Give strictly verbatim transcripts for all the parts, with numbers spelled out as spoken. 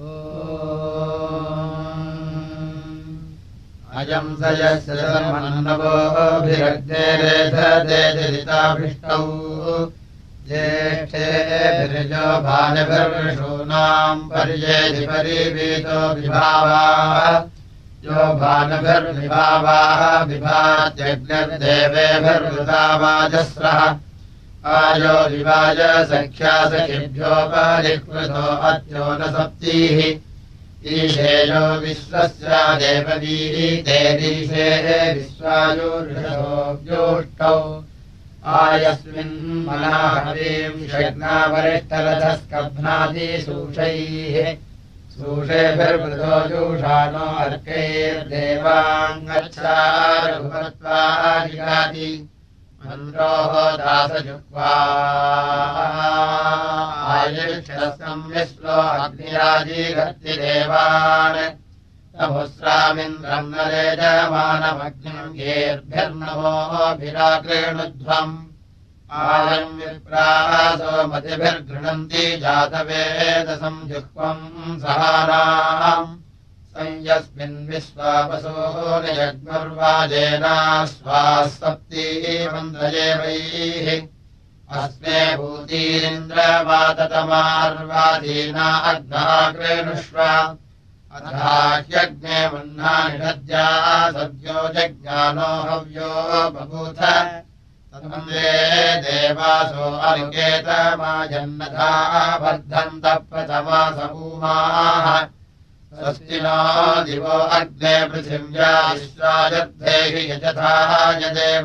अयम् स यस्य धर्मन्नवोभिरग्नेरेधदेदिताभिष्टौ ज्येष्ठेभिर्यो भानुभिर्विषूणाम् पर्येधि परिवीतो विभावाः यो भानुभिर्विभावाः विभात्यग्निर्देवेभिर्वृतावाजस्रः आयो विवाज सख्या सखिभ्योपरिकृतो अत्यो न सप्तीः ईशेयो विश्वस्य देववीतेरीशे विश्वायुर्षोऽव्योष्टौ आयस्मिन् मनाहवीम् षड्नावरिष्ठरथस्कभ्नादिसूषैः सूषेभिर्वृतो जुषाणो अर्कैर्देवाङ्गच्छारघुवत्वादिगाति मन्द्रोः दासजुह्वा आयुष्यस्कम् विश्वो अग्निराजीघर्ति देवान् तमुस्रामिन्द्रम् न रेजमानमग्निम् येर्भिर्नवोभिराकृणुध्वम् आयम् विप्रासो मतिभिर्गृह्णन्ति जातवेदसम् जुह्वम् सहानाम् संयस्मिन् विश्वावसो नियग्मुर्वाजेना स्वाः सप्तीमन्द्रजेवैः अस्मे भूतीरिन्द्रवाततमार्वादीना अग्नाकृणुष्व अथाह्यग्ने वह्नानि नद्या सद्यो जज्ञानो हव्यो बभूथ तन्वन्दे देवासो अनिकेतमाजन्नथा वर्धन्तः प्रथमासभूमाः स्वस्ति नो दिवो अग्ने पृथिव्या विश्वाजद्धेहि यजथा यदेव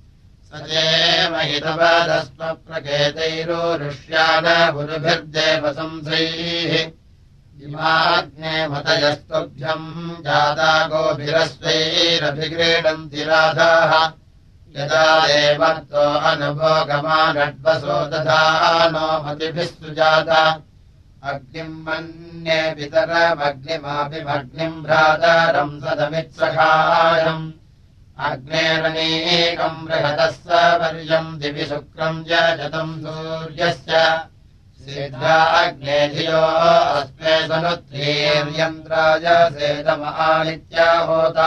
सजेमहितवदस्मप्रकेतैरोरुष्यान गुरुभिर्देवसंसैः इमाग्ने मतयस्तुभ्यम् जाता गोभिरस्वैरभिक्रीडन्ति राधाः यदा देवत्तो अनुभोगमानड्वसो दधानो मतिभिः सुजाता अग्निम् मन्ये पितरमग्निमाभिमग्निम् भ्रातरम् सदमित्सखायम् अग्नेरनेकम् बृहतः सपर्यम् दिवि शुक्रम् यजतम् सूर्यस्य सीधा अग्ने धियो अस्मे सनुत्रीर्यन्त्राय सेदमानित्या होता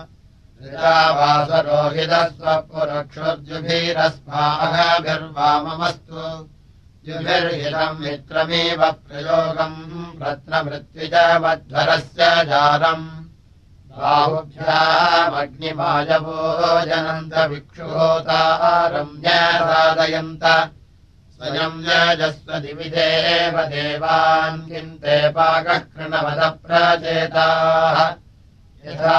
ऋतावासरोहितस्वपुरक्षुर्जुभिरस्माभिर्वाममस्तु जुभिर्हितम् मित्रमेव प्रयोगम् रत्नमृत्विजमध्वरस्य जारम् बाहुभ्यामग्निमायवो जनन्त विक्षुहोतारम् न्यसादयन्त स्वयम् यजस्व दिवि देव देवान् किन्ते पाकः कृणवदप्रचेताः यथा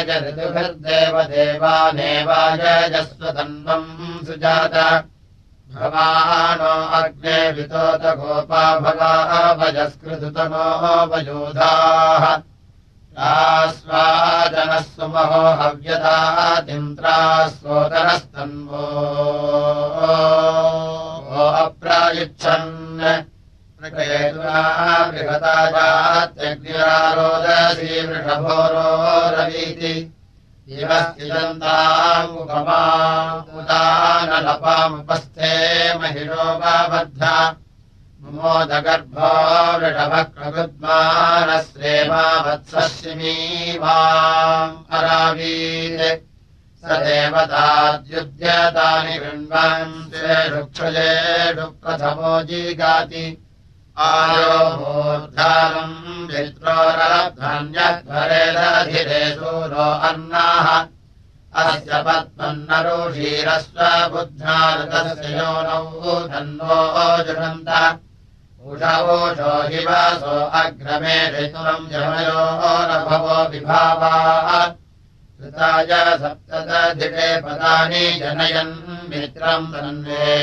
यजऋतुभिर्देवदेवानेवायजस्व तन्वम् सुजात भवानो अग्ने वितोत गोपा भवाभजस्कृतनो वयोधाः रास्वाजनः सुमहो हव्यदातिन्द्रास्वोदनस्तन्वो अप्रायुच्छन् प्रकयेतुना बृहता जात्यग्निरारोदसी वृषभोरो रवीति इवस्तिदन्तामुपमामुदानलपामुपस्थे महिषोपबद्धा मुमोदगर्भो वृषभः प्रगुद्मानश्रेमा वत्सशिमीवाम् अरावीत् स देवताद्युध्यतानि गृह्णान् स्वेषु क्षुजेषु प्रथमो जीगाति आयो मूर्धानम् वित्रोरलब्धन्यध्वरेदधिरे सूरो अन्नाः अस्य पद्मन्नरुषीरस्व बुद्ध्नाऋतस्य योनौ धन्वो जुषन्त उषवोषो हिवासो अग्रमे ऋतुरम् जमयो रभवो विभावाः ऋताय सप्तदधिके पदानि जनयन् मित्रम् तन्वे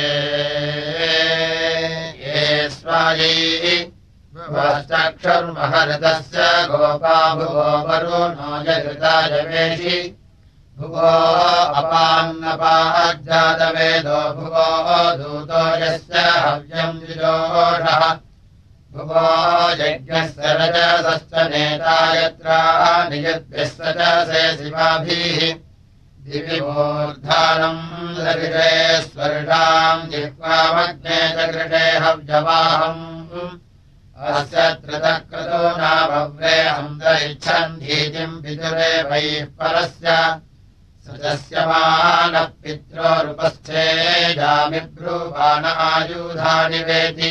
ये स्वायै भुवश्चक्षुर्महऋतस्य गोपा भुवो वरुणो यघृताय वेषि भुवो अपान्नपाज्जातवेदो भुवो दूतो यस्य हव्यम् विजोषः भुवो यज्ञस्य रजसश्च नेता यत्र नियद्भिः स च से शिवाभिः दिवि मूर्धानम् लघिषे स्वर्षाम् जिह्वामग्ने च कृषे हव्यवाहम् अस्य त्रितक्रतो नाभव्रे अन्तरिच्छन् धीतिम् पितुरे वैः परस्य सृजस्य मानः पित्रोरुपस्थे जामिब्रूवाण आयुधानि वेति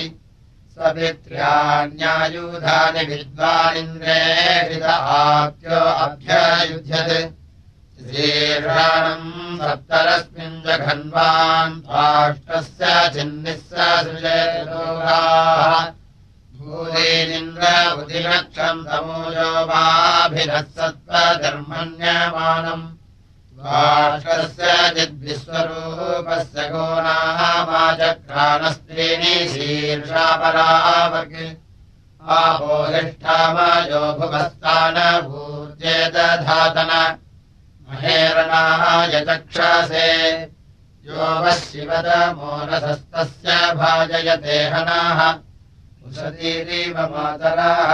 स्वपित्र्याण्यायुधानि विद्वानिन्द्रे हृद आप्यो अभ्ययुध्यते शीर्षाणम् सप्तरस्मिन् जघन्वान् त्वाष्टस्य चिन्निः सृजेतोगाः भूदेनिन्द्र उदिनक्षम् तमोजो वाभिनत्सत्त्वधर्मण्यमानम् त्वाष्टस्य चिद्विश्वरूपस्य गोनामाचक्राणस्त्रीणि शीर्षापरावक् आपोहिष्ठामयो भुवस्तानभूर्जेदधातन महेरणाय चक्षसे यो वः शिवतमोनसस्तस्य भाजयते हनाः उशतीरिव मातराः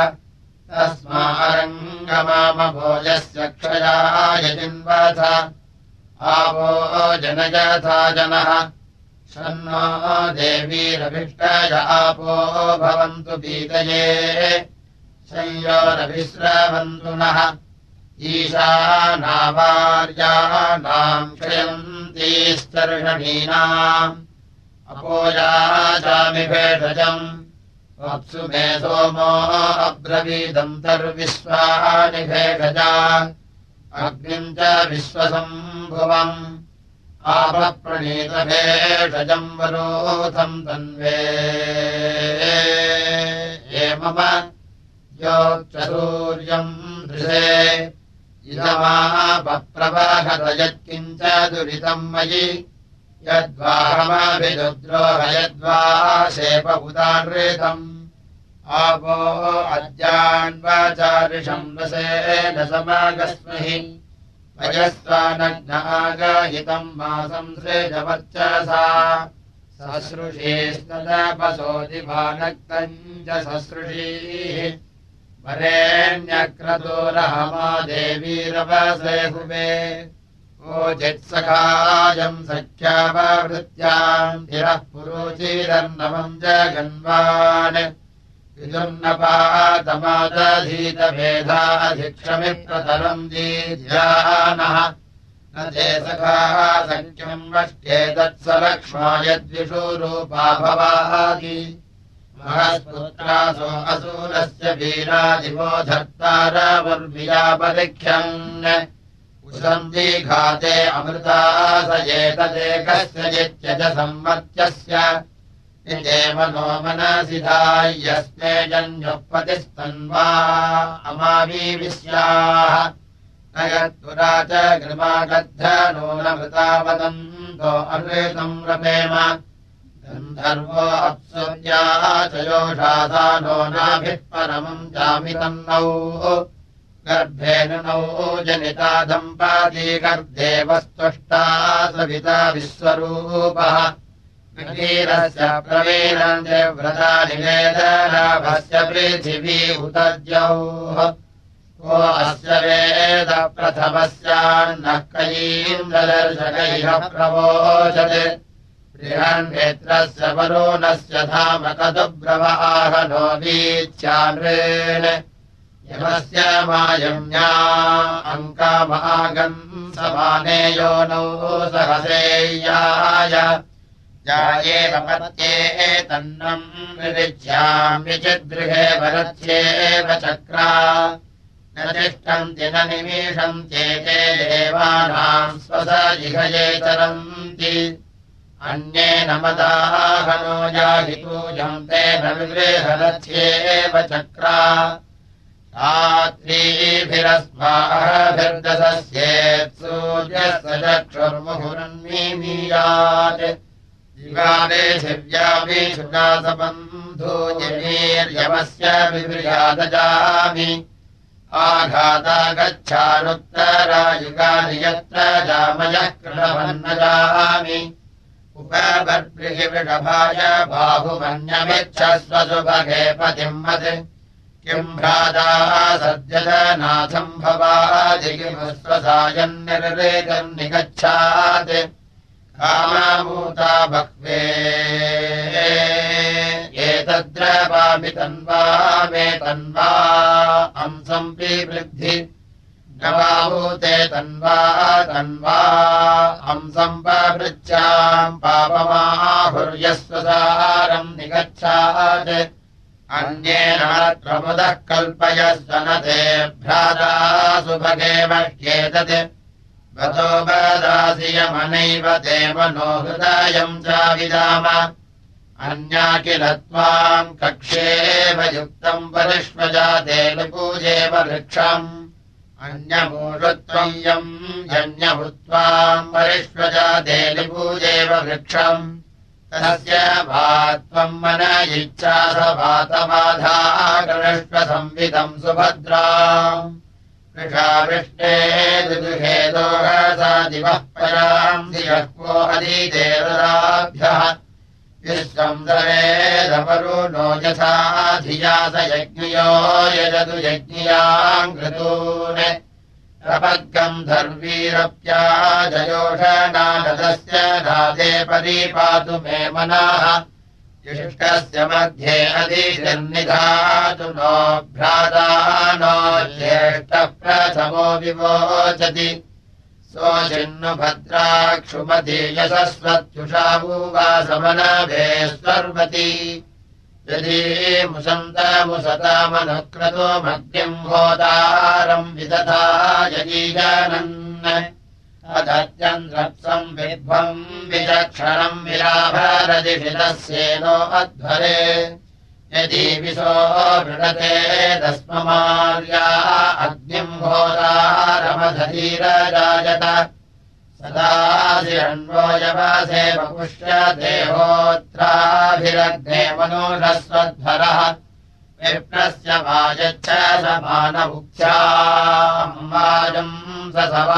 तस्मारङ्गमामभोजस्य क्षयाय जिन्वथ आवो जनयथा जनः शन्नो देवीरभिष्टय आपो भवन्तु पीतये संयोरभिस्रवन्तु नः ईशानावार्याणाम् क्षयन्तीस्तर्षणीनाम् अपोयाचामि भेषजम् वप्सु मे सोमो अब्रवीदन्तर्विश्वानि भेषजा अग्निम् च विश्वसम्भुवम् आपप्रणीतभेषजम् वरोथम् तन्वे ये मम योक्चसूर्यम् दृशे इदमापप्रवाहत यत्किञ्च दुरितम् मयि यद्वाहमभिरुद्रोह यद्वा शेपभूतानृतम् आपो अद्यान्वाचारिषम् रसेन समागस्महि वयस्वानग्नागायितम् मासम् सृजवर्चसा ससृषीस्तदपसोदिभानक्तम् च ससृषीः वरेण्यक्रतोरहमा देवीरवसे हुवे ओचित्सखायम् सख्याववृत्याम् धिरः पुरुचिरन्नवम् जगन्वान् विदुर्नपातमादधीतभेदाधिक्षमिप्रतरम् दीध्यानः न ते सखाः सख्यम् वष्ट्येतत्सलक्ष्मा यद्विषुरूपा भवाति महस्पुत्रासो असूरस्य वीरादिवो धर्तारवर्मियापलिख्यन् उसन्दिघाते अमृता स एतदेकस्य जित्यज संवर्त्यस्य निजेव नो मनसि धाय्यस्मे जन्युपतिस्तन्वा अमावीविश्याः न यत्पुरा च गृमागद्धनो न मृतावदन्तो अमृतम् रपेम गन्धर्वो अप्सुर्या च योषाधानो नाभिः परमम् जामितन्नौ गर्भेन नौ जनिता दम्पाती गर्देवस्तुष्टा सविता विश्वरूपः वीरस्य प्रवीरम् देव्रता निवेदनाभस्य पृथिवी उतद्यौः को अस्य वेद प्रथमस्यान्नः कयीन्द्रदर्शकैः प्रवोचते बृहन्नेत्रस्य वरुणस्य धाम कदुब्रवाहनो वीत्यानृन् यमस्य मायम्या अङ्कामागम् समाने योनौ सहसेय्याय जायेव पत्ये तन्नम् विरिच्यामि चिद्गृहे वरत्येव चक्रा न तिष्ठन्ति न निमीषन्त्येते देवानाम् स्वसजिघये चरन्ति अन्येन मदाहनो याहि पूजम् तेन विगृहरथ्येव चक्रा रात्रीभिरस्माभिर्दशस्येत् सूर्यस्य चक्षुर्मुहुरन्मीमीयात् दिवाले दिव्याभिषुनासबन्धूयमीर्यमस्य विव्रियादजामि आघाता गच्छानुत्तरायुगानि यत्र जामयः कृणवन्न जामि उपबर्भिः वृषभाय बाहुमन्यमिच्छस्व सुभगे पतिम् मत् किम् भ्राताः सद्यजनाथम् भवादिकिमुस्वसायम् निर्वेदम् निगच्छात् कामाभूता बह्वे ये एतद्रवामि तन्वा मे तन्वा अंसम् पिवृद्धि नवाभूते तन्वा तन्वा अंसम् पवृच्छाम् पापमाहुर्यस्वसारम् निगच्छात् अन्येन प्रमुदः कल्पयस्व न ते भ्राता सुभगे मह्येतत् वतो वदासि यमनैव ते मनो हृदयम् चाविदाम अन्या किल त्वाम् कक्ष्येव युक्तम् परिष्वजाते पूजेव वृक्षम् अन्यमूषत्वम् यम् यज्ञभूत्वाम् परिष्वजाते पूजेव वृक्षम् तस्य भात्वम् मन इच्छा स वातबाधा गृष्व संविदम् सुभद्राम् वृषा वृष्टे दुदुहे दोहसा दिवः पराम् धियः को अदिदेवताभ्यः विश्वम् दरेदवरुणो यथा धिया स यज्ञयो यजतु यज्ञियाम् घृतून् प्रपद्गम् धर्वीरप्याजयोषणानदस्य नादे परिपातु मे मनाः युष्टस्य मध्ये अधिनिधातु नो भ्राता नो ज्येष्ठः प्रथमो विवोचति सोऽचिन्नु भद्राक्षुमति यशस्वत्युषा भूवासमनभे स्वर्वती यदि मुसन्तमुसतामनुक्रतो मग्निम् होतारम् विदधा यजीजानन् अदत्यन्द्रप्सम् विद्वम् विचक्षणम् विराभरदिषितस्येनो अध्वरे यदि विशो वृणते तस्ममार्या अग्निम् होतारमधीरजायत सदासि अन्वो यवासे वपुष्य देहोत्राभिरग्ने मनोषस्वध्वरः विप्रस्य वाजच्छ समानमुख्याम् वाजम् स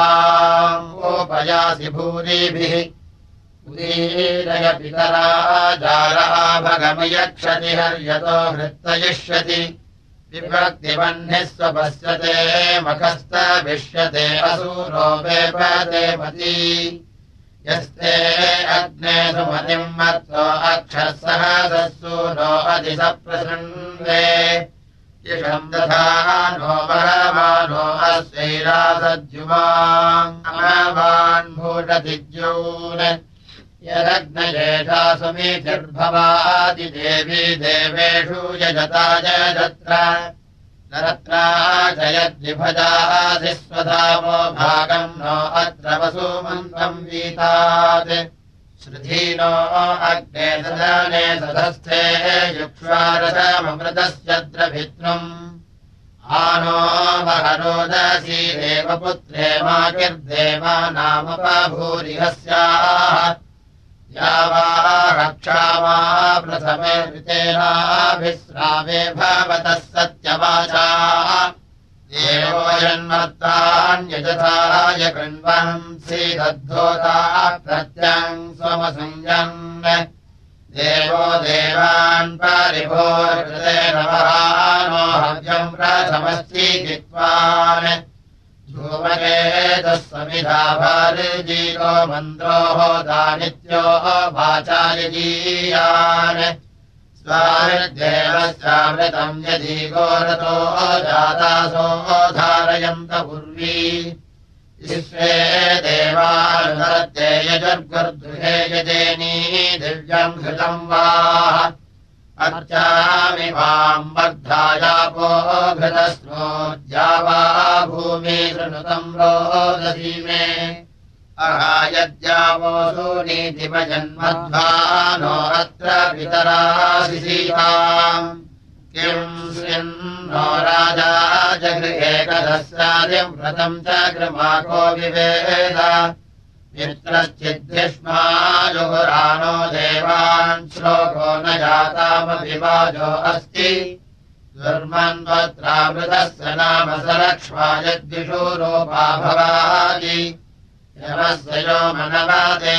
सवाम् भूरिभिः उदीरय पितरा जाराभगमयक्षति हर्यतो हृत्तयिष्यति विभक्तिवह्निः स्वपश्यते मखस्तभिष्यते असुरो वेपते मती यस्ते अग्ने सुमतिम् मत्तो अक्षः सहससूनो अधिसप्रसृण्वे इषम् दधानो वरमानो अस्यैरासद्युमान् भूषतिज्यून् यदग्नयेषा सुमीतिर्भवादि देवी देवेषु यजता जयत्र नरत्रा जयद्विभजासि स्वधामो भागम् नो अत्र वसुमन्तम् वीतात् श्रुधीनो अग्ने सदने सदस्थे युक्ष्वारसममृतस्य द्रभित्नुम् आनो वहरोदसी देवपुत्रे माकिर्देवानामुपभूरिहस्याः यावा रक्षामा प्रथमे ऋतेनाभिस्रावे भवतः सत्यवाचा देवो जन्मत्तान्यजथाय कृण्वन्सि दद्धोता प्रत्यम् स्वमसंयन् देवो देवान् परिभोर्कृतेन वहानो हव्यम् प्रथमश्चीकित्वान् धूमकेतः समिधा भार्जीतो मन्द्रो होदानित्यो वाचायजीयान् स्वामिर्देवस्यामृतम् यदि गोरतो जातासो धारयन्त पूर्वी विश्वे देवानुदत्ते यजुर्गुर्गृहे यजेनी दिव्यम् घृतम् वा अर्चामि वाम् वर्धायापो घृतस्नोद्यावा भूमि शृणुतम् रोदसी मे अहायद्यावो सूनीतिमजन्मध्वानो अत्र पितरासि सीताम् किम् स्विन्नो राजा जगृहे कदस्यादिम् व्रतम् च कृमाको विवेद मित्रश्चिद्धिष्मा जुहुरानो देवान् श्लोको न जातामभिवाजो अस्ति दुर्मन्वत्रामृतस्य नाम स लक्ष्मा यद्विषूरूपा भवादि यमस्य यो मनवादे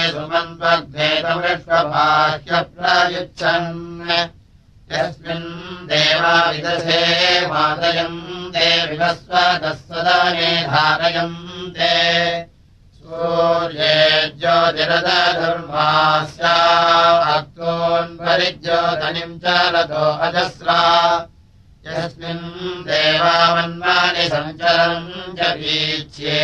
सुमन्त्वग्नेतमृष्वभाह्यप्रयुच्छन् यस्मिन् देवा विदधे मादयम् ते विवस्वतः सदाने धारयन्ते सूर्ये ज्योतिरदधर्मास्या अक्तोन्परिज्योतनिम् च रतो अजस्रा यस्मिन् देवामन्वानि सञ्चरन् च वीच्ये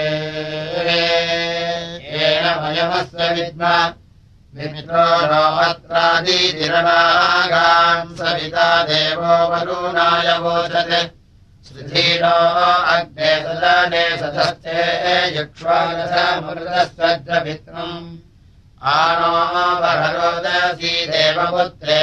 येन वयमस्य विद्म विमित्रो नो अत्रादितिरणागान् सविता देवो वरुणाय वोचते श्रुधीनो अग्ने सदने सदस्ते यक्ष्वादसमृतस्तद्रभित्रम् आनो वररोदसी देवपुत्रे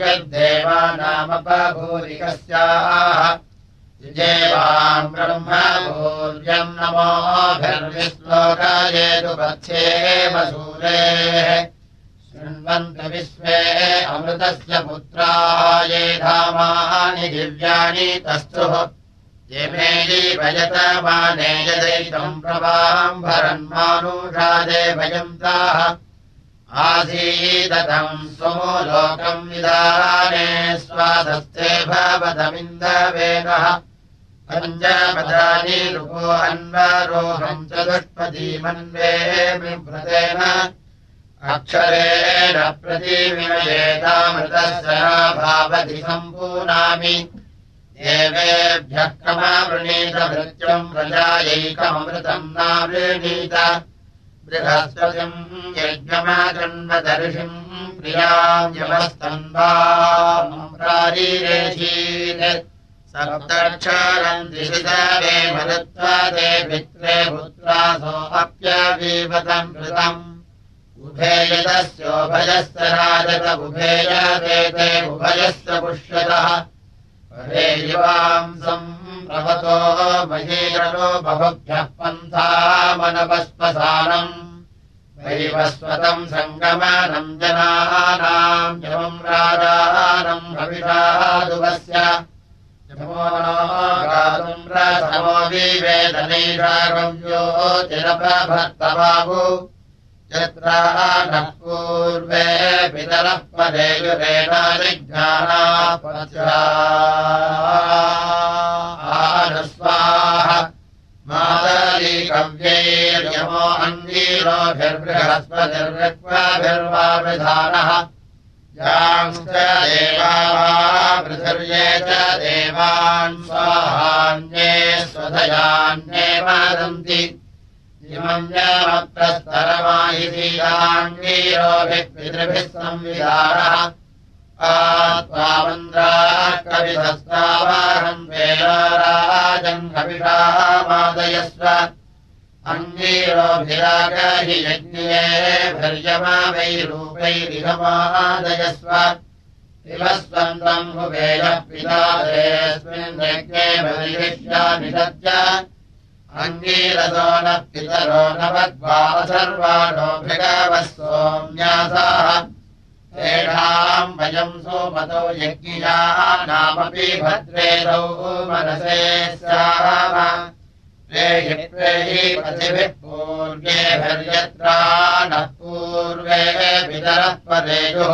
मायद्देवानामपभूरिकस्याः युजेवाम् ब्रह्मभूर्यम् नमोभिर्विश्लोकायेतु पथ्ये वसूरेः शृण्वन्तु विश्वे अमृतस्य पुत्रा ये धामानि दिव्यानि तस्थुः ये मेयि भजतमाने यदैतम् प्रभाम् भरन्मानुषादे भजन्ताः आसीदतम् स्वमो लोकम् विदाने स्वादस्ते भवतमिन्दवेनः पञ्चपदानि रुपो अन्वरोहम् चतुष्पदीमन्वे बिभ्रतेन अक्षरेण प्रतिविमयेतामृतस्य भावति सम्पूर्णामि देवेभ्यः क्रमवृणीत भृत्यम् प्रजायैकमृतम् नावृणीत बृहस्पतिम् यज्ञमाजन्मदर्शिम् प्रियाम् यमस्तन्वारीरेषीत् सप्तक्षरम् दिशितवे मरुत्वादे पित्रे पुत्रासो अप्यवीवतम् कृतम् उभेयदस्योभयस्य राजत उभेयदेते उभयस्य पुष्यतः परेयुवांसम् प्रवतो महीरनो बहुभ्यः पन्थामनवस्पसानम् वैवस्वतम् सङ्गमनम् जनानाम् यमम् राजानम् हविषादुवस्य यमो गातुम् रसमो विवेदनैषागव्योतिरपभर्तबाहु यत्र नः पूर्वे पितरः पदेयुरेण जिज्ञानापत्याः मातलीकव्यैर्यमो अङ्गीरोभिर्बृहस्पतिर्विक्वाभिर्वावृधानः यांश्च देवा पृथिर्ये च देवान् स्वाहान्ये स्वधयान्ये वदन्ति इमन्यमप्रस्तरमायिषीयाङ्गीरोभिः पितृभिः संविधानः आत्मामन्द्राः कविधस्तावाहम् वेलाराजन् हविषामादयस्व अङ्गीरोभिरागहि यज्ञेभिर्यमावैरूपैरिहमादयस्व इवस्वन्तम् हुवेयः पिता देऽस्मिन् यज्ञे बलिष्या निषद्य अङ्गीरसो नः पितरो नवद्वासर्वाणो भृगवः सोम्यासाः तेषाम् वयम् सोमतो यज्ञियानामपि भद्रेदौ मनसे स्याम प्रेहि प्रेहि पथिभिः पूर्वेभिर्यत्रा नः पूर्वे पितरः परेयुः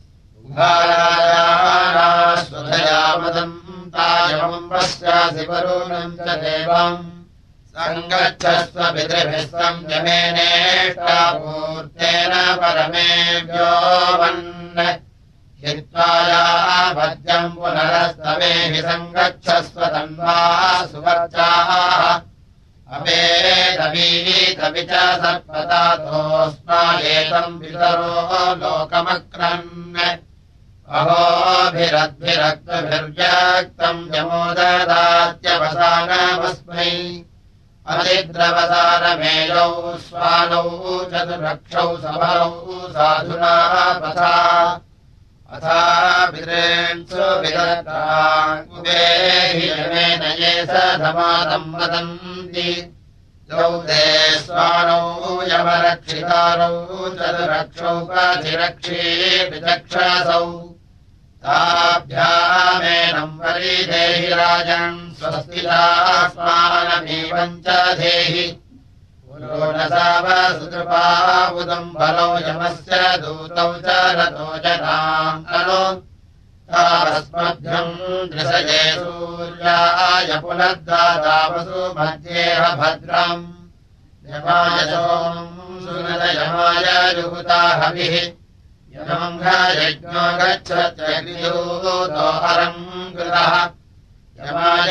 उभारायाः स्वधयामदम् तायमम् पश्यासि वरुणम् च देवम् सङ्गच्छस्व पितृभिः संयमेनेष्टा पूर्तेन परमेभ्यो वन् हित्वायावद्यम् पुनरस्तमेहि सङ्गच्छस्व तन्वा सुवर्चाः अवेदवीतपि च सर्पतातोऽस्मायेतम् पितरो लोकमक्रन् अहोभिरद्भिरक्तभिर्व्यक्तम् यमो ददात्यवसानमस्मै अतिद्रवसानमेयौ स्वानौ चतुरक्षौ सबलौ साधुना पथा अथा पितॄन्सु विदत्ताङ्कुबेहि यमेन ये सधमादम् वदन्ति द्वौ ते स्वानौ यमरक्षितारौ चतुरक्षौ पथिरक्षीपि चक्षसौ ताभ्यामेनम् वरीदेहि राजन् स्वस्तिदास्मानमेवम् च देहि पुरोणसावसुतृपावुदम् बलौ यमस्य दूतौ च रतो जनाम् अनु तावस्मभ्यम् दृशये सूर्याय पुनर्दादावसु मध्येह भद्रम् यमाय सोमम् सुनदयमाय जुहुता हविः यमम् यज्ञो गच्छत्यग्निदूतो हरम् कृतः यमाय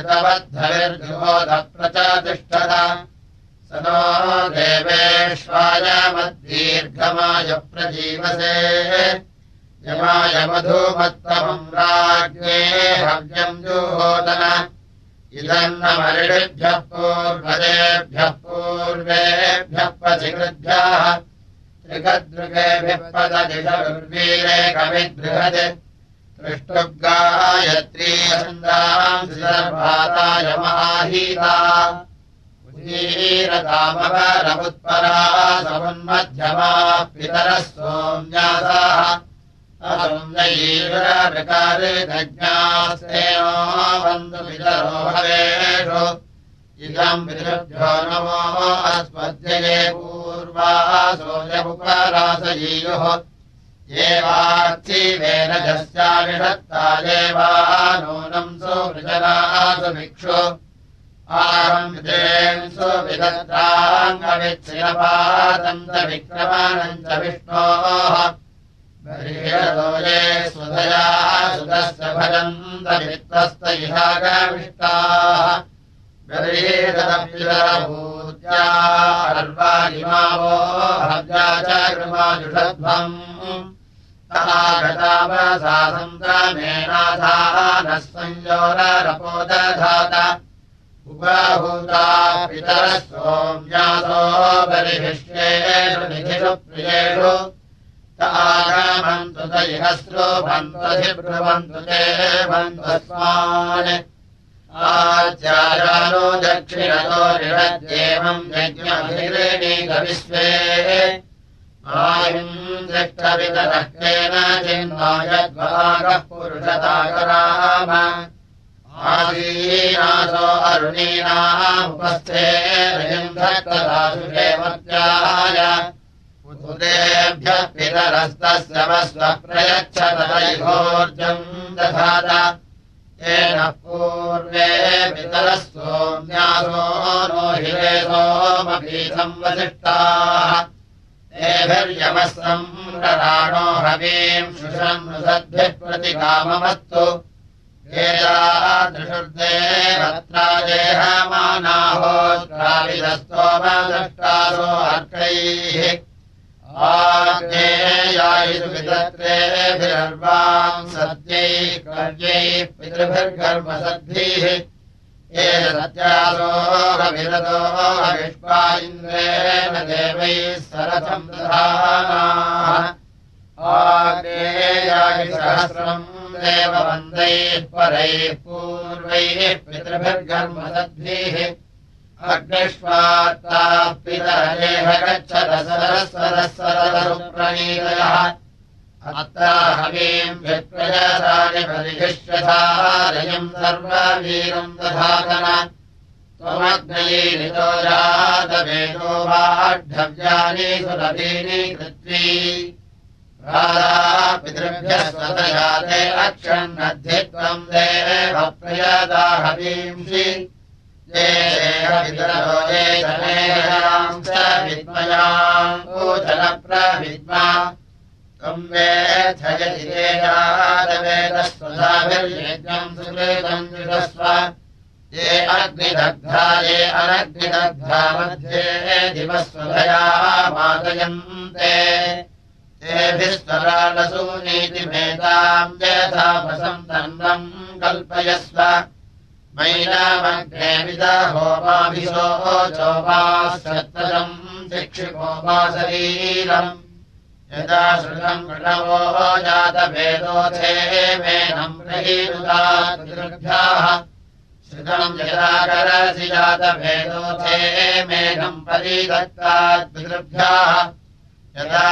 घृतवद्धविर्जुहोदप्रचतिष्ठत स नो देवेश्वाय मद्दीर्घमाय प्रजीवसे यमाय मधुमत्तमम् राज्ञे हव्यम् जुहोदन इदम् न मरिषिभ्यः पूर्वदेभ्यः पूर्वेभ्यः पथिकृभ्यः त्रिगदृगेभिः पददिशुर्वीरे कविद्बृहत् त्रिष्टुगायत्री छन्दांसि सर्वाताय महाहीता उदीरतामवरमुत्परा समुन्मध्यमाः पितरः सोम्यासाः असंयीरविकारिदज्ञास्तेनो बन्धुपितरो भवेषु इदम् पितृभ्यो नमो अस्मद्यये पूर्वासोऽयमुपरासयीयुः ये वार्थिवेन जस्याविषत्ता देवा नूनम् सुवृजनासु भिक्षु आरम्भितेन् सुविदत्राङ्गविच्छिरपादम् च विक्रमणम् च विष्णोः बर्हिषतो ये स्वधया सुतस्य भजन्त मित्रस्त इहागविष्टाः बर्हिषदपितरभूत्या अर्वाणिमावो हव्या च कृमाजुषध्वम् तहागतावसा सन्द्रमेणाधानः संयोररपोदधात उपाहूता पितरः सोम्यासो बर्हिष्येषु निधिषु प्रियेषु तागमन्तु त इहस्रो बन्ध्वधिब्रुवन्तु ते बन्ध्वस्मान् आचार्यानो दक्षिणतो ऋषद्येवम् यज्ञमभिरेणीकविश्वे आयुम् दृष्टवितरः केनचिन्नो यद्वागः पुरुषताकराम आसीनासो अरुणीनामुपस्थे रजन्धक्तदासु हेमत्याय उदेभ्यः पितरस्तस्य वस्वः प्रयच्छत तैहोर्जम् दधात येन पूर्वे पितरः सोम्यासो नो हिरे सोमपीठम् वसिष्ठाः तेभिर्यमः सम्रराणो हवीम् शुशम् नुसद्भिः प्रतिकाममस्तु एतादृशुर्देवत्रा देहमानाहोत्राविदस्तोमदष्टासो अर्कैः आग्नेयायिषु विदत्रेभिरर्वाम् सत्यैः कर्यैः पितृभिर्गर्भसद्भिः ये सत्यासोऽविरतो अविष्पा इन्द्रेण देवैः सरथम् दधानाः आग्नेयायि सहस्रम् देववन्दैः परैः पूर्वैः पितृभिर्गर्भसद्भिः अग्निष्वात्ताः पितरेह गच्छत सरस्वरः सरसरुप्रणीतयः अत्ता हवीम् विप्रयसानि परिहिष्यधारयम् सर्ववीरम् दधातन त्वमग्नयीनितो जातवेदो वाढव्यानि सुरभीनि कृत्वी राधा पितृभ्यः स्वतयाते अक्षन्नद्धि त्वम् देव प्रयदा हवींषि ये पितरो ये जनेयाम् च विद्मयाम् पूजनप्रविद्मा त्वम् वेथयति ते यादवेदस्वधाभिर्यज्ञम् सुकृतम् जुषस्व ये अग्निदग्धा ये अनग्निदग्धा मध्ये दिवस्वधया मादयन्ते तेभिस्वरालसूनीतिमेताम् यथापसम् तन्नम् कल्पयस्व मैनामग्ने विदहोमाभिशो चोपाश्चत्तजम् शिक्षिपो वा शरीरम् यदा श्रुतम् प्रणवो जातवेदोऽथे मेनम् प्रहीरुतात् पितृभ्याः श्रुतम् यदा करसि जातवेदोऽथे मेनम् परिदत्तात् पितृभ्याः यदा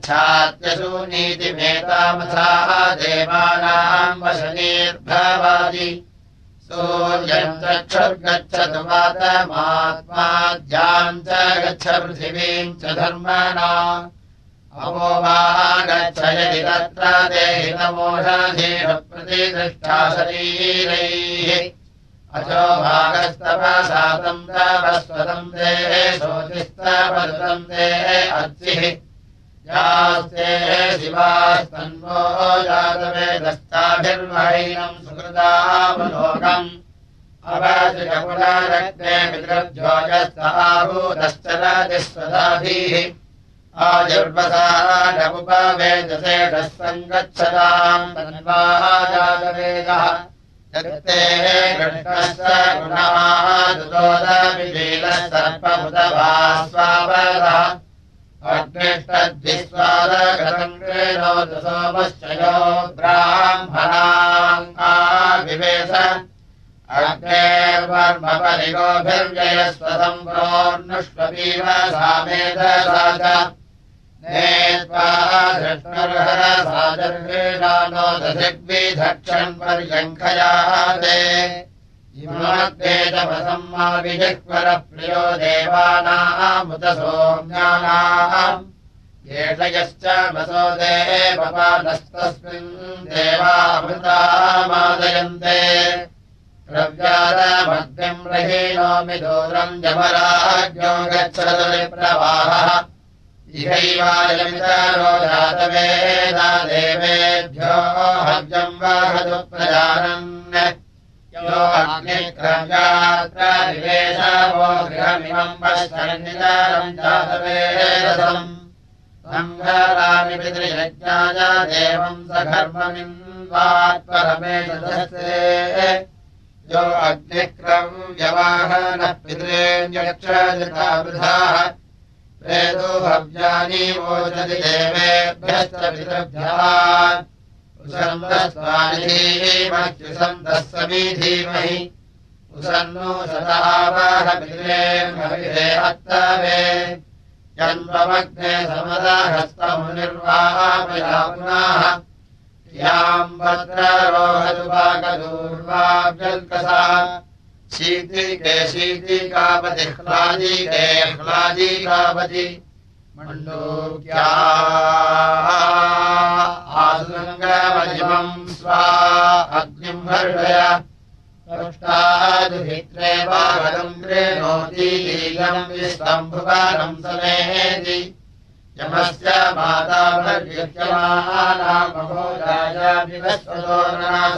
गच्छात्यसूनीतिमेतामथाः देवानाम् वशनीर्भवादि सूर्यम् चक्षुर्गच्छतु वातमात्माद्याम् च गच्छ पृथिवीम् च धर्मणा अवो वा गच्छ यदि तत्र देहितमोषधीः प्रतिदृष्टा शरीरैः अचो भागस्तपसातं तपस्वतं ते शोचिस्तपदतं ते अर्चिः यास्ते शिवास्तन्वो जातवेदस्ताभिर्महीनं सुकृतावलोकम् अवजपुनरग्ने मित्रभ्योजस्ताभूतश्चरतिस्वदाभिः आजुर्वसा नमुपवेदसेढः सङ्गच्छताम् तन्वा जातवेदः यत्ते कृष्णस्य गुणादुतोदविलीलः सर्पमुदभास्वावरः अग्निष्टद्विस्वादगतम् कृणोतु सोमश्चयो ब्राह्मणाम् आविवेश अग्नेर्वर्मपरिगोभिर्ययस्वसम्प्रोर्नुष्वपीव सामेधसा च नेत्वा धृष्णुर्हरसाजर्वीणानो दधिग्विधक्षन् पर्यङ्खयाते इमाग्नेतपसम्माविजिह्वरप्रियो देवानामुत सोम्यानाम् येषयश्च वसो देवपादस्तस्मिन् देवामृतामादयन्ते द्रव्यादमग्निम् रहीणोमि दूरम् जमराज्ञो गच्छतु विप्रवाहः इहैवायमितरो जातवेदा देवेभ्यो हव्यम् वाहतु प्रजानन् यो अग्निक्रव्यात्र निवेशवो गृहमिमम् पश्यन्नितरम् जातवेदसम् सङ्घरामि पितृयज्ञाय देवम् सघर्ममिन्वात्परमेशदस्ते यो अग्निक्रव्यवाहनः पितॄन्यक्षजतावृथाः प्रेतो हव्यानि वोचति देवेभ्यश्च पितृभ्यः उसन्दस्वानिधीमत्युसन्दः समीधीमहि उसन्नो सदावह पितॄन्हविरे अत्तवे यन्वमग्ने समदहस्तमुनिर्वापयापुनाः याम् भद्ररोहतु वागदूर्वाव्यल्कसा शीतिके शीतिकापति ह्लादिके ह्लादिकापति मण्डूक्या आसुरङ्गमजिमम् स्वा अग्निम् हर्षय पृष्टादुहित्रे वागदम् गृह्णोति लीलम् विस्तम्भुवनम् समेति यमस्य माता भर्युच्यमानामहोराजाभिवस्वतो नास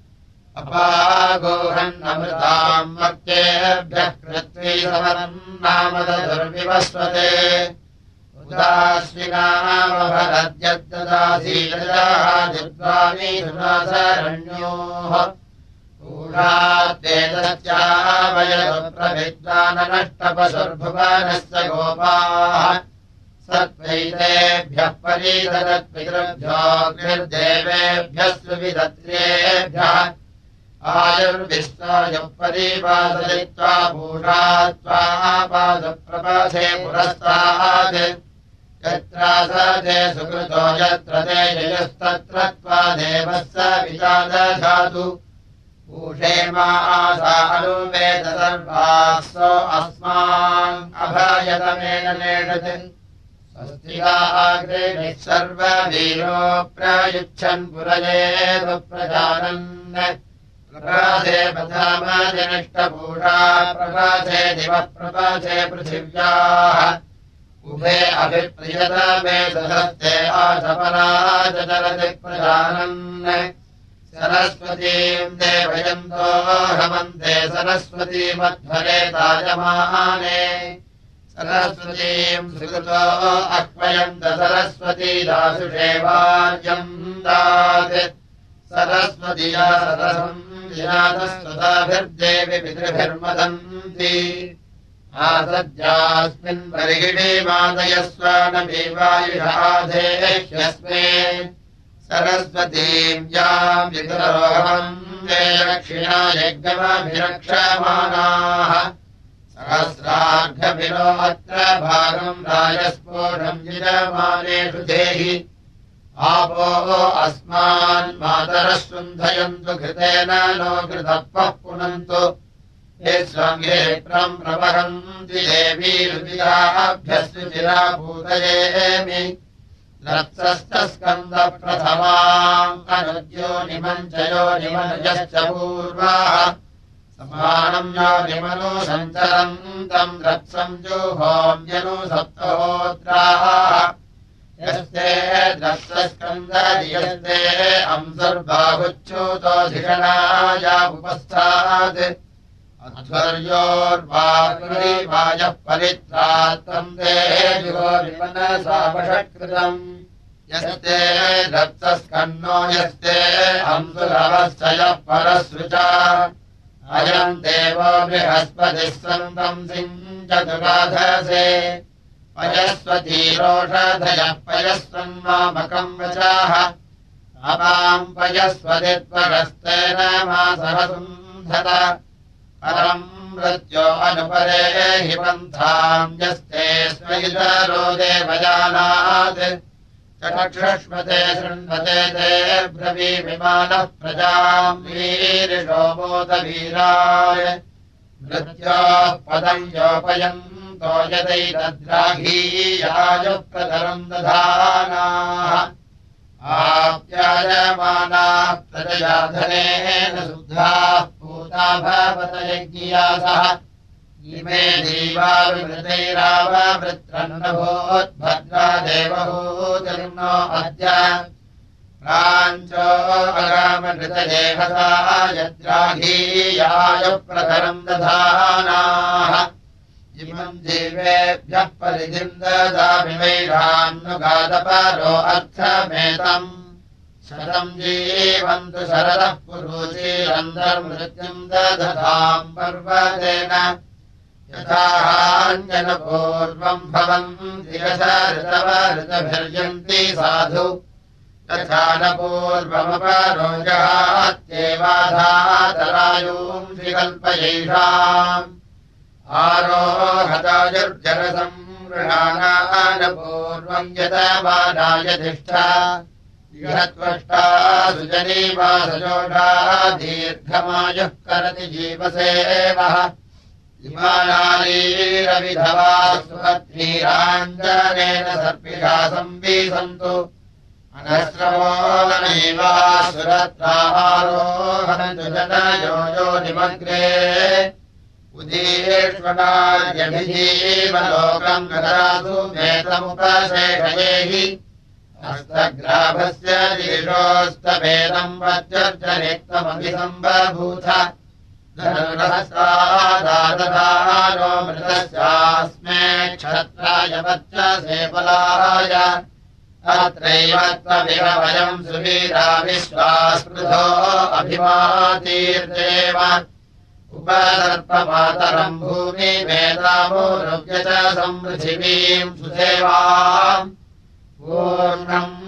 अपागोहन्नमृताम् मर्त्येभ्यः कृत्वी समरम् नामदुर्विवस्वते उदास्विनामभरद्यद्ददासीलजादिद्वामी सुनासरण्योः ूढाद्वेदस्यावयदुप्रविद्वाननष्टपशुर्भुवनस्य गोपाः सत्त्वैतेभ्यः परीददत्पितृभ्योऽग्निर्देवेभ्यः सुविदत्रेभ्यः आयुर्विश्वायुः परिपादयित्वा भूषा त्वापादप्रपासे पुरस्तात् यत्र स ते सुकृतो यत्र ते जयस्तत्र त्वा देवः स विचादधातु ऊषेमा आसा अनुवेद सर्वासो अस्मान् अभयतमेन नेषत् स्वस्तिकाग्रे सर्ववीरो प्रयुच्छन् पुरजेतु प्रजानन् प्रभासे पथामजनिष्टपूषा प्रभासे दिवः प्रभासे पृथिव्याः उभे अभिप्रियतमे सहस्ते आसपराजचरति प्रजानन् सरस्वतीम् देवयन्तो हवन्ते सरस्वतीमध्वरे ताजमाने सरस्वतीम् सुकृतो अह्वयन्त सरस्वती दासुषेवार्यम् दात् सरस्वतीया सरसम् विनातस्वताभिर्देवि पितृभिर्मदन्ति आसद्यास्मिन् बर्हिणि मादयस्व न वायुषाधेह्यस्मे सरस्वतीम् याम् वितरोहम् ते दक्षिणा यज्ञमभिरक्षमाणाः सहस्रार्घभिरो अत्र भागम् राजस्फोटम् यजमानेषु देहि आपो अस्मान् मातरः शुन्धयन्तु घृतेन नो घृतपः पुनन्तु ये स्वङ्गेत्रम् प्रवहन्ति देवीरुचिराभ्यस्तु चिराभूतयेमि रत्सस्तस्कन्दप्रथमाम् अनुद्यो निमञ्चयो निमनुजश्च पूर्वाः समानम् योनिमनु सञ्चरन्तम् रत्सम् जुहोम्यनु सप्तहोत्राः यस्ते द्रत्सस्कन्दयस्ते अंसर्बाहुच्युतोऽधिषणाय उपस्थात् अध्वर्योर्वायुरिवायः परित्रात्तम् देवो विमनसावषकृतम् यस्ते रक्तस्कन्नो यस्ते अंसुरवश्चयः परसृचा अयम् देवो बृहस्पतिः सन्तम् सिञ्चतुराधसे पयस्वतीरोषधयः पयस्वन्मामकम् वचाः अपाम् पयस्वदित्वरस्तेन मासहसुन्धत परम् मृत्यो अनुपरे हि पन्थाम् यस्ते स्मैतरो देवजानात् चक्षुष्मते शृण्वते ते ब्रवीमिमानः प्रजाम् वीरिषो मोदवीराय मृत्योः पदम् योपयन्तो यदैतद्राघीयाय प्रतरम् दधानाः आप्यायमानाः प्रजया धनेन शुद्धाः पूता भवत यज्ञियासः इमे देवा विमृतैराववृत्रन्नभूद्भद्रा देवहूतिर्नो अद्य प्राञ्चो अगामनृतदेहसा यद्राघीयाय प्रतरम् दधानाः इमम् जीवेभ्यः परिधिम् ददामि वैरान्नुगादपरो अर्थमेतम् शतम् जीवन्तु शरदः पुरुषीरन्तर्मृत्युम् दधताम् पर्वतेन यथाहान्यनपूर्वम् भवन्ति ऋतवऋतभिर्यन्ति साधु तथा न पूर्वमपरोजहात्येवाधातरायूंषि कल्पयैषाम् आरोहतायुर्जनसंवृणानान पूर्वम् यतमानाय तिष्ठा इहत्वष्टा सुजनीवासजोषा दीर्घमायुः करति जीवसेवः इमानालीरविधवा सुपत्नीराञ्जनेन सर्पिषा संवीसन्तु अनश्रवो नैवासुरत्रारोहन्तु जनयो यो निमग्रे उदीर्ष्वणार्यभिजीवलोकम् गतासु मेतमुपशेषयेहि हस्तग्राभस्य दीर्घोस्तभेदम् वच्चर्जनिक्तमभिसम्बभूथ धनुरहस्तादादधारो मृतस्यास्मे क्षत्राय वच्चसे बलाय अत्रैव त्वमिव वयम् सुवीरा विश्वास्पृधो अभिमातीर्देव उपसर्पमातरम् भूमि वेदामोरुव्य च संपृथिवीम् सुसेवाम् पूर्णम्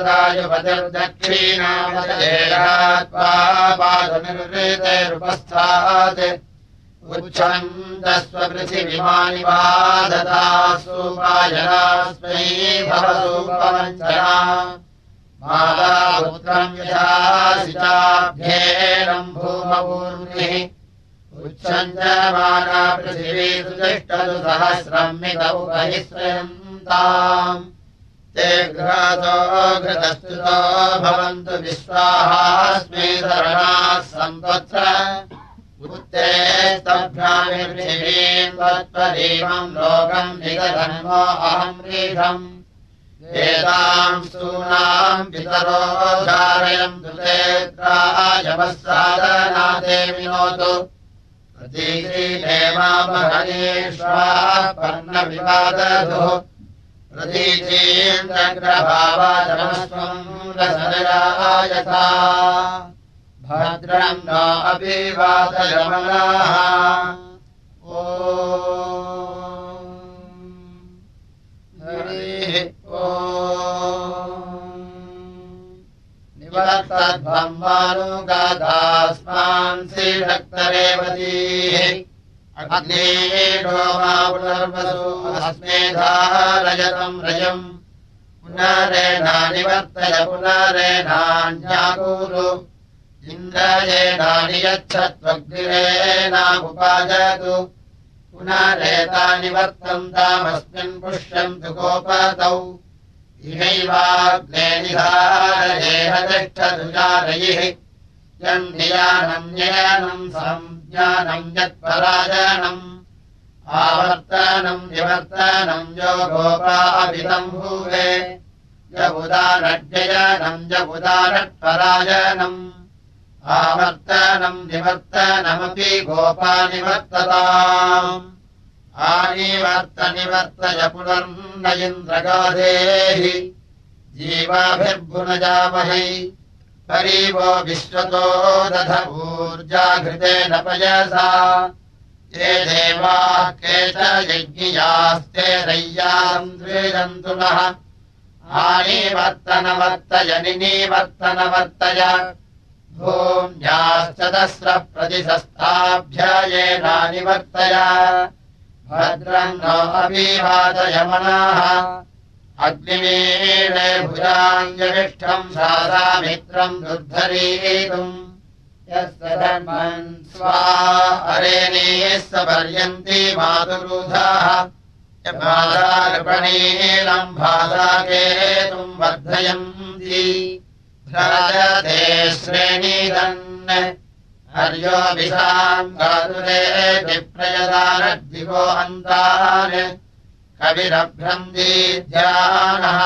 व्रतायुपतिर्दक्षिणामदेहात्वा पादनिर्वृतेरुपस्थात् उच्छन्दस्वपृथिविमानि वादतासु वायनास्मै भवसूपवञ्चना माता पुत्रम् यथा सिचाभ्येनम् भूमपूर्णिः उच्छन्दमाना पृथिवी सुतिष्ठतु सहस्रम् मितौ बहिस्रयन्ताम् ते घृतो घृतस्तुतो भवन्तु विश्वाहास्मै शरणाः सन्त्वत्र उत्ते स्तभ्यामिर्पृथिवीम् त्वत्परीमम् लोकम् निगधन्मो अहम् रीढम् वेदाम् सूनाम् पितरो धारयन्तु तेत्रायवः साधनाते विनोतु प्रतीचीनेमामहनीश्वाः पर्णविवादधुः प्रतीचीन्द्रग्रभावाचमस्त्वम् रसजयायथा भद्रम् न अपि वातयमनाः ओ हरिः ओ निवर्तध्वम्मानुगादास्मान् श्रीशक्तरेवतीः अग्नेडोमा पुनर्वसु अस्मे धारयतम् रजम् पुनरेणा निवर्तय पुनरेणान्याकुरु इन्द्रयेणा नियच्छत्वग्निरेणामुपाजतु पुनरेता निवर्तन्तामस्मिन् पुष्यन्तु गोपतौ इहैवाग्ने निधारयेह तिष्ठतु जारयिः यन्नियानम् न्ययनम् ज्ञानम् यत्पराजनम् आवर्तनम् निवर्तनम् यो गोपाभितम् भूवे य उदारड्ययनम् य उदारट्पराजनम् आवर्तनम् निवर्तनमपि गोपानिवर्तताम् आनिवर्तनिवर्तय पुनर्न इन्द्रगाधेहि जीवाभिर्भुनजामहै परीवो विश्वतो दध ऊर्जाघृतेन पयसा ये देवाः के च यज्ञियास्ते रय्यान्द्रियन्तु नः आनिवर्तनवर्तय निवर्तनवर्तय भूम्याश्च दस्रः प्रतिशस्ताभ्ययेनानिवर्तय भद्रम् नो अभिवादयमनाः अग्निमीळे भुजाङ्गविष्ठम् सादामित्रम् दुर्धरीतुम् यस्य धर्मन् स्वा अरेणीः स पर्यन्ति मातुरुधाः यमादार्पणीलम् भासाकेतुम् वर्धयन्ति भ्राजते श्रेणीदन् हर्योऽभिषाम् गातुरे विप्रयदानद्दिवो अन्तान् कविरभ्रन्दीध्यानः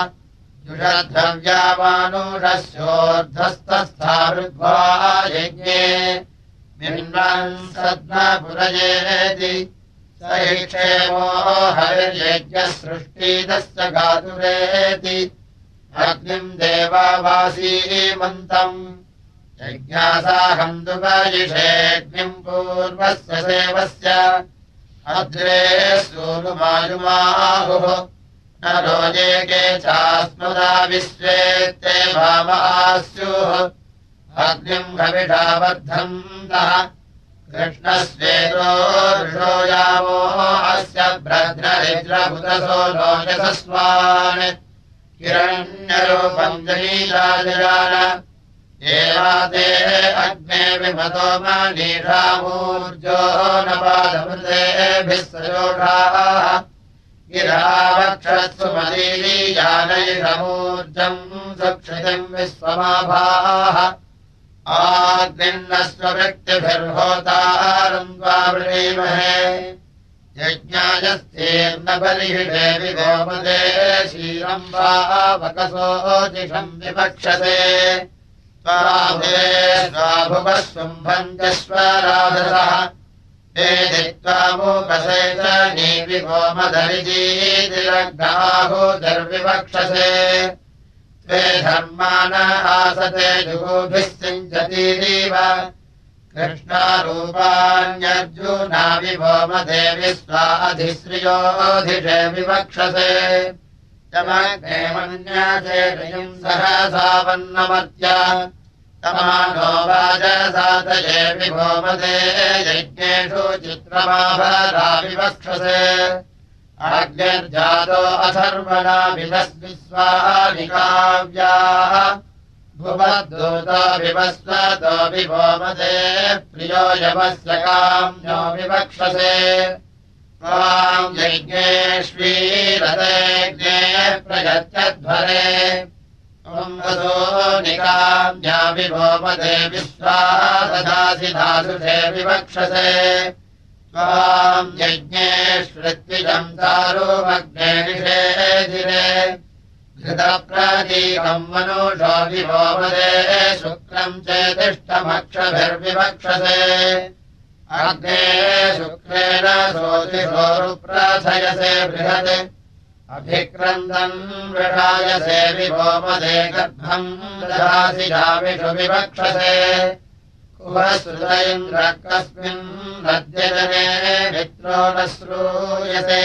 जुषद्रव्यामानुषस्योर्धस्तस्था वृद्ध्वा यज्ञे मिन्वन् सद्मपुरयेति स हि क्षेमो हरिर्यज्ञसृष्टिदस्य गातुरेति अग्निम् देवावासीमन्तम् यज्ञासाहम् दुपयिषेऽग्निम् पूर्वस्य सेवस्य अद्रे सूनुमायुमाहुः न रोजेके चास्मदा विश्वेत्ते भामास्युः अग्निम् हविषा वर्धन्तः कृष्णस्वेदो ऋषो यावो अस्य भ्रद्ररिद्रभुतसो लोचसस्वान् हिरण्यरूपम् जनीराजयान एवाते अग्ने विमतो मनीषामूर्जो न पादमृतेभिः सयोषाः गिरावक्षत्सु मदीयानैषमूर्जम् सुक्षितिम् विश्वमाभाः आग्निन्नस्वव्यक्तिभिर्होतारम् त्वा वृणीमहे यज्ञायस्तेर्न बर्हिषे विगोमदे शीलम् वा वकसोऽजिषम् विवक्षसे त्वाभे स्वाभुवः शुम्भम् च स्वराधसः वेदित्वामुपसे च नीविगोमदरिजीतिरग्नाहुर्विवक्षसे त्वे धर्मान आसते जुगुभिः सिञ्चतीरीव कृष्णारूपाण्यर्जुना विभोमदेवि स्वाधिश्रियोऽधिषे विवक्षसे तमग्ने मन्यासे रयम् सहसावन्नमर्त्य तमानो वाजसातये विभोमदे यज्ञेषु चित्रमाभरा विवक्षसे अग्निर्जातो अथर्वणा विदस्विस्वानिकाव्याः भुवद्दूतो विवस्वतो विभोमदे प्रियो यमस्य काम्यो विवक्षसे त्वाम् यज्ञेष्वीरतेऽग्ने प्रयच्छध्वरे त्वम् वसो निकाम्या विभोमदे विश्वा ददासि धासुषे विवक्षसे त्वाम् यज्ञेष्वृत्विजम् दारुमग्ने निषेधिरे घृतप्रतीकम् मनुषो विभोमदे शुक्रम् चेतिष्ठमक्षभिर्विवक्षसे अग्ने शुक्रेण सोतिषोरुप्रथयसे बृहत् अभिक्रन्दन् वृषायसे विभोमदे गर्भम् ददासि जामिषु विवक्षसे कुवसुत इन्द्रः कस्मिन् नद्यजने मित्रो न श्रूयसे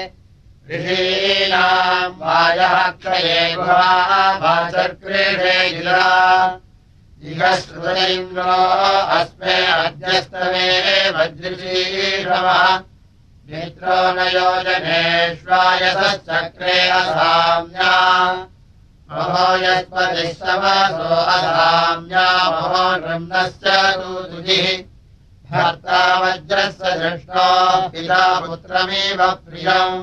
ऋषीणाम् वायः क्षये गुहा वाचक्रीडे गिरा जिगश्रुत इन्द्रो अस्मे अद्यस्तमे वज्रशीषवः मित्रो न योजनेष्वायसश्चक्रे असाम्या महो यस्पतिः समसो असाम्या महो नृम्नश्च दूतुजिः भर्ता वज्रस्य दृष्टो पिता पुत्रमिव प्रियम्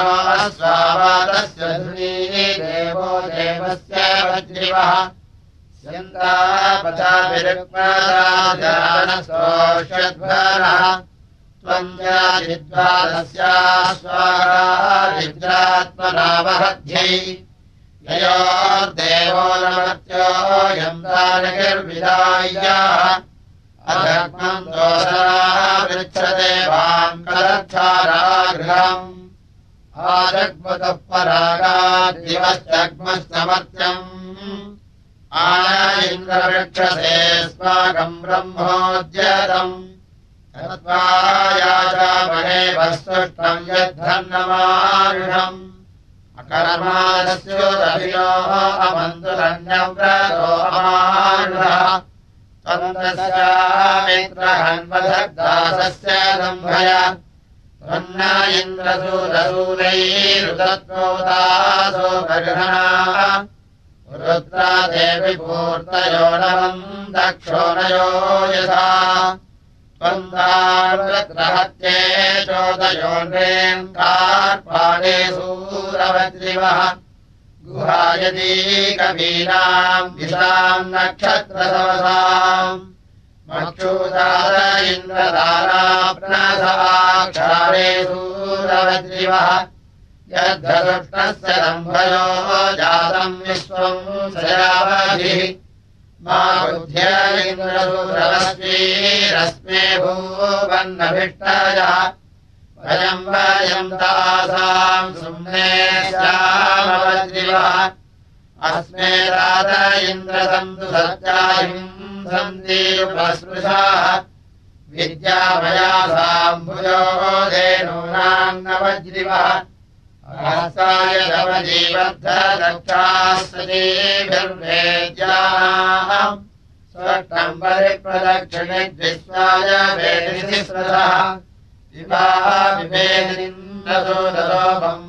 स्वावादस्य धुनी देवो देवस्य वज्रिवः यन्तापचाभिरुक्मदानस्तोष्यध्वरः त्वम् जातिद्वादस्यास्वागादिद्रात्मनावहध्यै ययोर्देवो नमत्यो यन्तानिर्विदाय्याः अधर्मम् दोषावृच्छते वाम् कलक्षारागृहम् आजग्मुतः परागाद्दिवश्चग्मस्तमर्त्यम् आय इन्द्रवृक्षसे स्माकम् ब्रह्मोद्यतम् तत्त्वायाचामहे वस्तुष्टम् यद्धन्नमारुषम् अकर्मादस्योदभिनोः अमन्तुरन्यव्रतो अमारुषः त्वन्दस्यामित्रहन्वधग्दासस्य दम्भय त्वन्न इन्द्रसूरसूरैरुदत्वोदासो बर्हणाः रुद्रा देवि पूर्तयो नवम् दक्षोणयो यथा त्वन्दार्वत्रहत्ये चोदयोन्रेन्कार्पाणे सूरवज्रिवः गुहायदीकवीनाम् दिशाम् नक्षत्रसवसाम् मक्षूदार इन्द्रदाराप्नसाक्षारे सूरवज्रिवः यद्धदुष्टस्य दम्भयो जातम् विश्वम् सयावधिः मा बुद्ध्य इन्द्रसूरवस्वीरस्मे भूवन्नभिष्टयः वयम् वयम् तासाम् सुम्ने श्यामवज्रिवः अस्मे रात इन्द्रसन्तु सत्यायिम् सन्तीरुपस्पृशाः विद्यामयासाम् भुजो धेनूनाम् नवज्रिवः सहसाय नवजीवद्धदक्षास्तीभिर्वेद्याः स्वष्टम् परिप्रदक्षिणे द्विस्वाय वेदिनिस्रथः विवाह विभेदिनिन्दसोदरो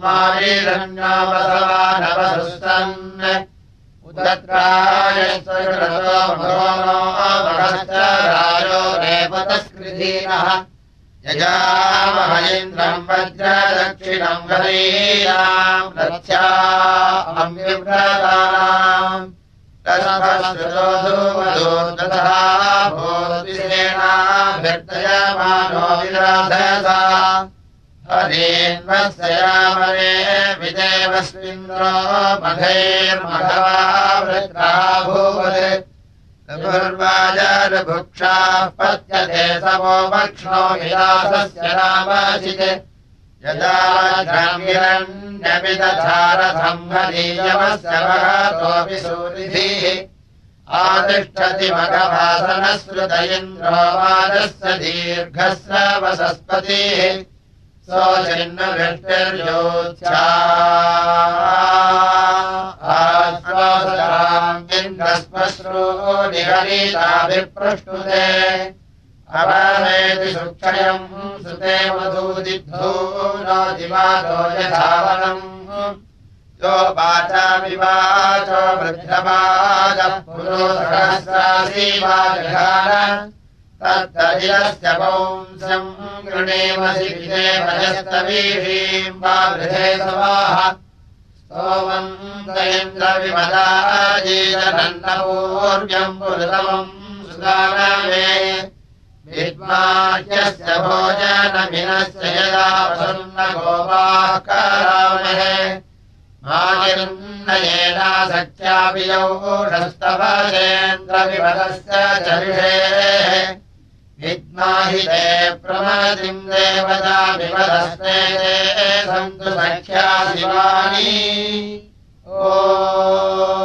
ब्रह्मारीरण्यावसवानवसुस्तन् उदत्राय स्वकृतो भगवनो महश्च राजो रेपतस्कृधीनः यजामह इन्द्रम् वज्रदक्षिणम् हरीयाम् रथ्या अम्युव्रतानाम् तस्मश्रुतो धूमदूर्दतः भूद्विसेनाभिर्दयमानो विराधसा हरीन्वत्सयामरे विदेवस्विन्द्रो मघैर्मघवा वृत्रः भूवत् पूर्वाजारभुक्षाः पत्यते समो वक्ष्णो विलासस्य रामचित् यदा द्रव्यरण्यमिदधारथम् हरीयमस्य वहतोऽपि सूरिभिः आतिष्ठति मघभासनश्रुत इन्द्रो वाजस्य दीर्घस्रवसस्पतिः सोऽचिन्नवृष्टिर्योत्स्या आश्वासताम् इन्द्रस्मश्रो निहरिताभिप्रष्टुते अवनेति सुक्षयम् सुते मधुदिद्धो नो दिवादो यथावनम् यो वाचामिवाचो वृद्धवादः पुरो सहस्रासीवाजघान तत्तदिलस्य पौंस्यम् गृणेमसि विदेवयस्तवीषीम् वा वृधे सवाः सोमन्तयन्द्रविमदाजीजनन्नपूर्व्यम् पुरुतमम् सुदानवे विद्माह्यस्य भोजनमिनस्य यदा वसुन्नगोपाः करामहे मानिर्नयेनासख्यापि यौषस्तवजेन्द्रविमदस्य चरिषेः विद्माहि ते प्रमदिम् देवता विमदस्ते ते सन्तु सख्या शिवानी ओ